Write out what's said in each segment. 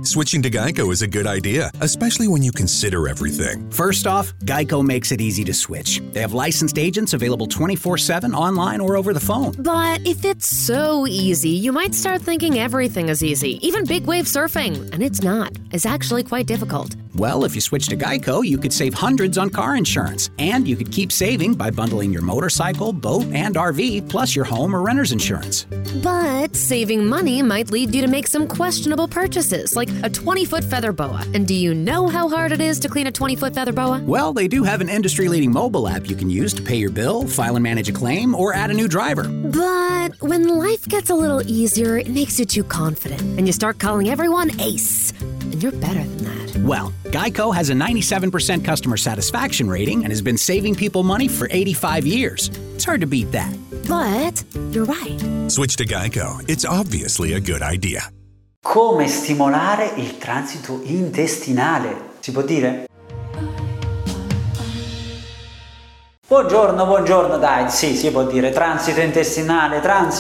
Switching to Geico is a good idea, especially when you consider everything. First off, Geico makes it easy to switch. They have licensed agents available 24/7 online or over the phone. But if it's so easy, you might start thinking everything is easy, even big wave surfing. And it's not. It's actually quite difficult. Well, if you switch to Geico, you could save hundreds on car insurance. And you could keep saving by bundling your motorcycle, boat, and RV, plus your home or renter's insurance. But saving money might lead you to make some questionable purchases, like a 20-foot feather boa. And do you know how hard it is to clean a 20-foot feather boa? Well, they do have an industry-leading mobile app you can use to pay your bill, file and manage a claim, or add a new driver. But when life gets a little easier, it makes you too confident, and you start calling everyone Ace. And you're better than that. Well, Geico has a 97% customer satisfaction rating and has been saving people money for 85 years. It's hard to beat that. But you're right. Switch to Geico. It's obviously a good idea. Come stimolare il transito intestinale? Si può dire? Buongiorno, dai, sì, si può dire transito intestinale,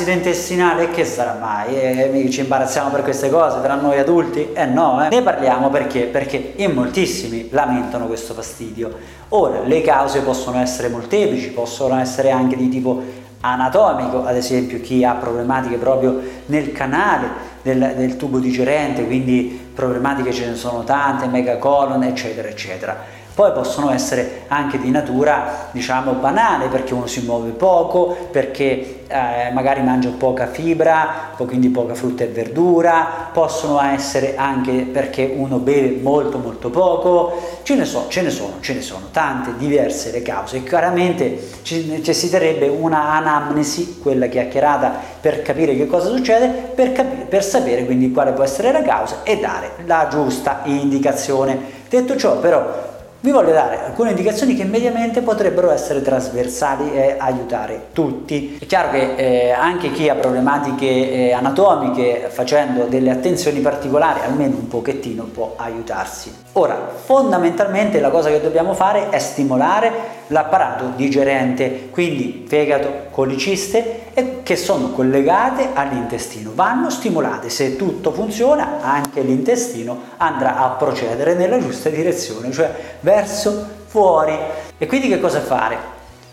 che sarà mai? Ci imbarazziamo per queste cose tra noi adulti? No. Ne parliamo perché in moltissimi lamentano questo fastidio. Ora, le cause possono essere molteplici, possono essere anche di tipo anatomico, ad esempio chi ha problematiche proprio nel canale del tubo digerente, quindi problematiche ce ne sono tante, megacolon, eccetera, eccetera. Poi possono essere anche di natura, diciamo, banale, perché uno si muove poco, perché magari mangia poca fibra, quindi poca frutta e verdura, possono essere anche perché uno beve molto poco, ce ne sono tante diverse le cause e chiaramente ci necessiterebbe una anamnesi, quella chiacchierata, per capire che cosa succede, per sapere quindi quale può essere la causa e dare la giusta indicazione. Detto ciò, però, vi voglio dare alcune indicazioni che mediamente potrebbero essere trasversali e aiutare tutti. È chiaro che anche chi ha problematiche anatomiche, facendo delle attenzioni particolari, almeno un pochettino può aiutarsi. Ora, fondamentalmente la cosa che dobbiamo fare è stimolare l'apparato digerente, quindi fegato, coliciste, che sono collegate all'intestino. Vanno stimolate. Se tutto funziona, anche l'intestino andrà a procedere nella giusta direzione, cioè verso fuori. E quindi che cosa fare?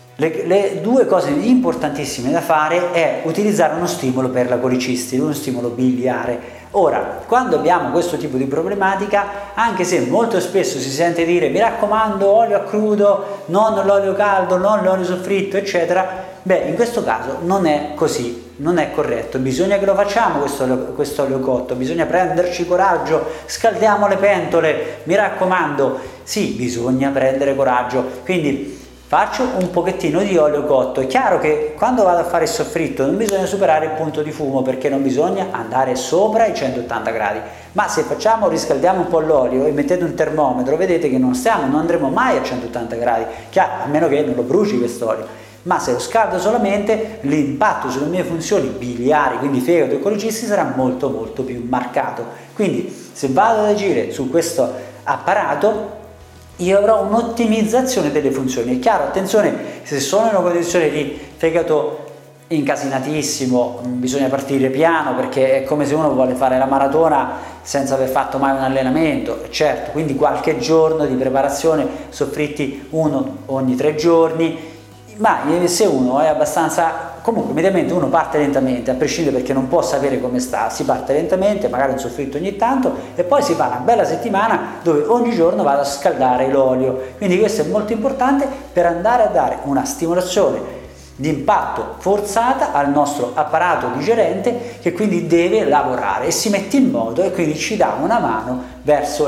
Le due cose importantissime da fare è utilizzare uno stimolo per la coliciste, uno stimolo biliare. Ora, quando abbiamo questo tipo di problematica, anche se molto spesso si sente dire mi raccomando olio a crudo, non l'olio caldo, non l'olio soffritto, eccetera, in questo caso non è così, non è corretto. Bisogna che lo facciamo questo olio cotto, bisogna prenderci coraggio, scaldiamo le pentole, mi raccomando, sì, bisogna prendere coraggio. Quindi faccio un pochettino di olio cotto. È chiaro che quando vado a fare il soffritto non bisogna superare il punto di fumo, perché non bisogna andare sopra i 180 gradi, ma se riscaldiamo un po' l'olio e mettete un termometro, vedete che non andremo mai a 180 gradi, chiaro, a meno che non lo bruci quest'olio. Ma se lo scaldo solamente, l'impatto sulle mie funzioni biliari, quindi fegato e colicisti, sarà molto più marcato. Quindi se vado ad agire su questo apparato, io avrò un'ottimizzazione delle funzioni. È chiaro, attenzione, se sono in una condizione di fegato incasinatissimo, bisogna partire piano, perché è come se uno vuole fare la maratona senza aver fatto mai un allenamento, certo, quindi qualche giorno di preparazione, soffritti uno ogni 3 giorni, ma se uno è abbastanza, comunque mediamente uno parte lentamente, a prescindere, perché non può sapere come sta, si parte lentamente, magari un soffritto ogni tanto, e poi si fa una bella settimana dove ogni giorno vado a scaldare l'olio. Quindi questo è molto importante per andare a dare una stimolazione di impatto forzata al nostro apparato digerente, che quindi deve lavorare e si mette in moto e quindi ci dà una mano verso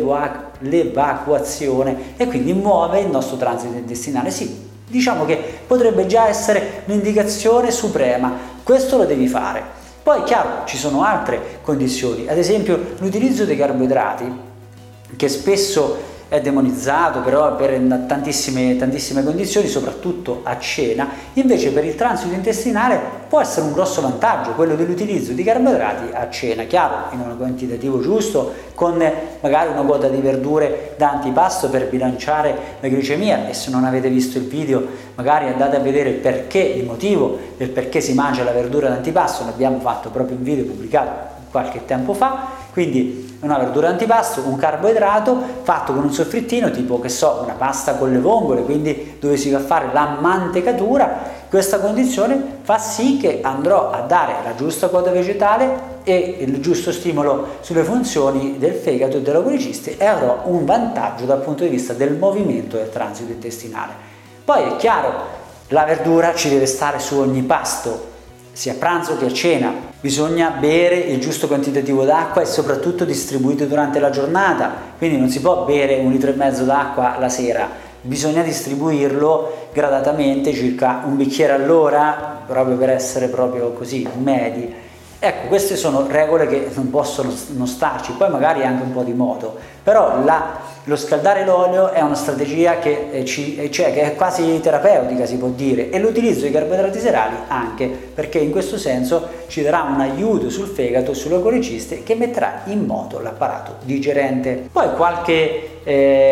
l'evacuazione e quindi muove il nostro transito intestinale. Sì, diciamo che potrebbe già essere un'indicazione suprema, questo lo devi fare. Poi chiaro, ci sono altre condizioni, ad esempio l'utilizzo dei carboidrati, che spesso è demonizzato però per tantissime condizioni, soprattutto a cena. Invece per il transito intestinale può essere un grosso vantaggio quello dell'utilizzo di carboidrati a cena, chiaro, in un quantitativo giusto, con magari una quota di verdure da antipasto per bilanciare la glicemia. E se non avete visto il video, magari andate a vedere il motivo del perché si mangia la verdura da antipasto, l'abbiamo fatto proprio un video pubblicato qualche tempo fa. Quindi una verdura antipasto, un carboidrato fatto con un soffrittino, tipo, che so, una pasta con le vongole, quindi dove si va a fare la mantecatura. Questa condizione fa sì che andrò a dare la giusta quota vegetale e il giusto stimolo sulle funzioni del fegato e della colicisti, e avrò un vantaggio dal punto di vista del movimento del transito intestinale. Poi è chiaro, la verdura ci deve stare su ogni pasto, sia a pranzo che a cena. Bisogna bere il giusto quantitativo d'acqua e soprattutto distribuito durante la giornata, quindi non si può bere 1,5 litri d'acqua la sera, bisogna distribuirlo gradatamente, circa un bicchiere all'ora, proprio per essere proprio così medi. Ecco, queste sono regole che non possono non starci, poi magari anche un po' di modo, però lo scaldare l'olio è una strategia che è quasi terapeutica, si può dire, e l'utilizzo di carboidrati serali anche, perché in questo senso ci darà un aiuto sul fegato e sulle coliciste che metterà in moto l'apparato digerente. Poi qualche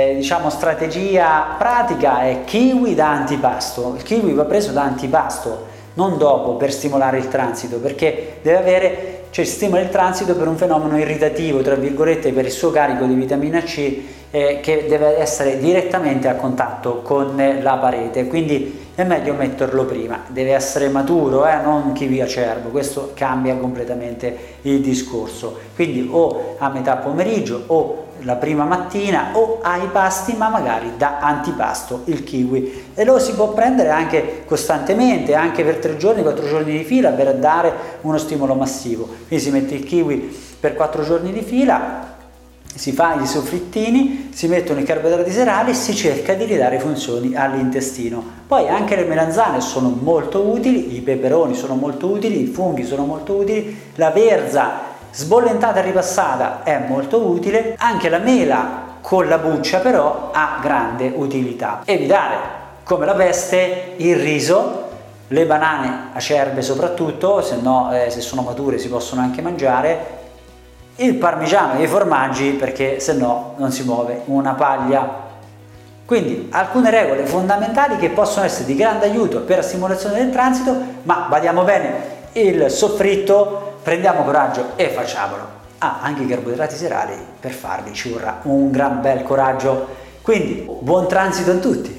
strategia pratica è kiwi da antipasto. Il kiwi va preso da antipasto, non dopo, per stimolare il transito, perché stimola il transito per un fenomeno irritativo, tra virgolette, per il suo carico di vitamina C, che deve essere direttamente a contatto con la parete, quindi è meglio metterlo prima. Deve essere maturo, non kiwi acerbo, questo cambia completamente il discorso. Quindi o a metà pomeriggio o la prima mattina o ai pasti, ma magari da antipasto il kiwi, e lo si può prendere anche costantemente, anche per 3 giorni, 4 giorni di fila, per dare uno stimolo massivo. Quindi si mette il kiwi per 4 giorni di fila, si fa i soffrittini, si mettono i carboidrati serali e si cerca di ridare funzioni all'intestino. Poi anche le melanzane sono molto utili, i peperoni sono molto utili, i funghi sono molto utili, la verza sbollentata e ripassata è molto utile, anche la mela con la buccia però ha grande utilità. Evitare come la peste il riso, le banane acerbe soprattutto, se no se sono mature si possono anche mangiare, il parmigiano e i formaggi, perché se no non si muove una paglia. Quindi alcune regole fondamentali che possono essere di grande aiuto per la stimolazione del transito, ma badiamo bene, il soffritto, prendiamo coraggio e facciamolo. Anche i carboidrati serali, per farli ci vorrà un gran bel coraggio. Quindi buon transito a tutti!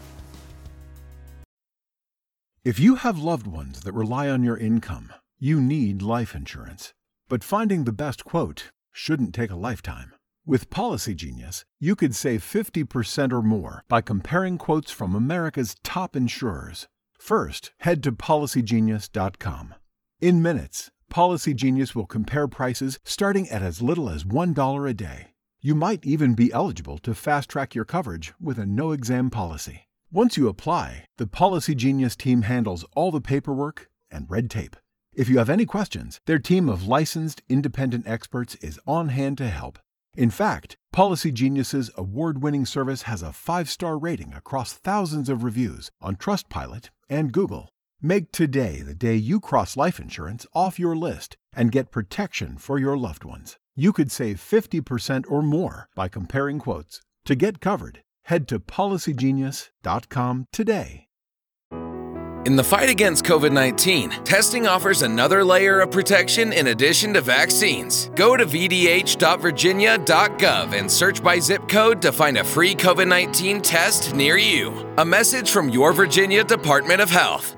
If you have loved ones that rely on your income, you need life insurance. But finding the best quote shouldn't take a lifetime. With Policy Genius, you could save 50% or more by comparing quotes from America's top insurers. First, head to PolicyGenius.com. In minutes, Policy Genius will compare prices starting at as little as $1 a day. You might even be eligible to fast-track your coverage with a no-exam policy. Once you apply, the Policy Genius team handles all the paperwork and red tape. If you have any questions, their team of licensed independent experts is on hand to help. In fact, Policy Genius's award-winning service has a 5-star rating across thousands of reviews on Trustpilot and Google. Make today the day you cross life insurance off your list and get protection for your loved ones. You could save 50% or more by comparing quotes. To get covered, head to PolicyGenius.com today. In the fight against COVID-19, testing offers another layer of protection in addition to vaccines. Go to vdh.virginia.gov and search by zip code to find a free COVID-19 test near you. A message from your Virginia Department of Health.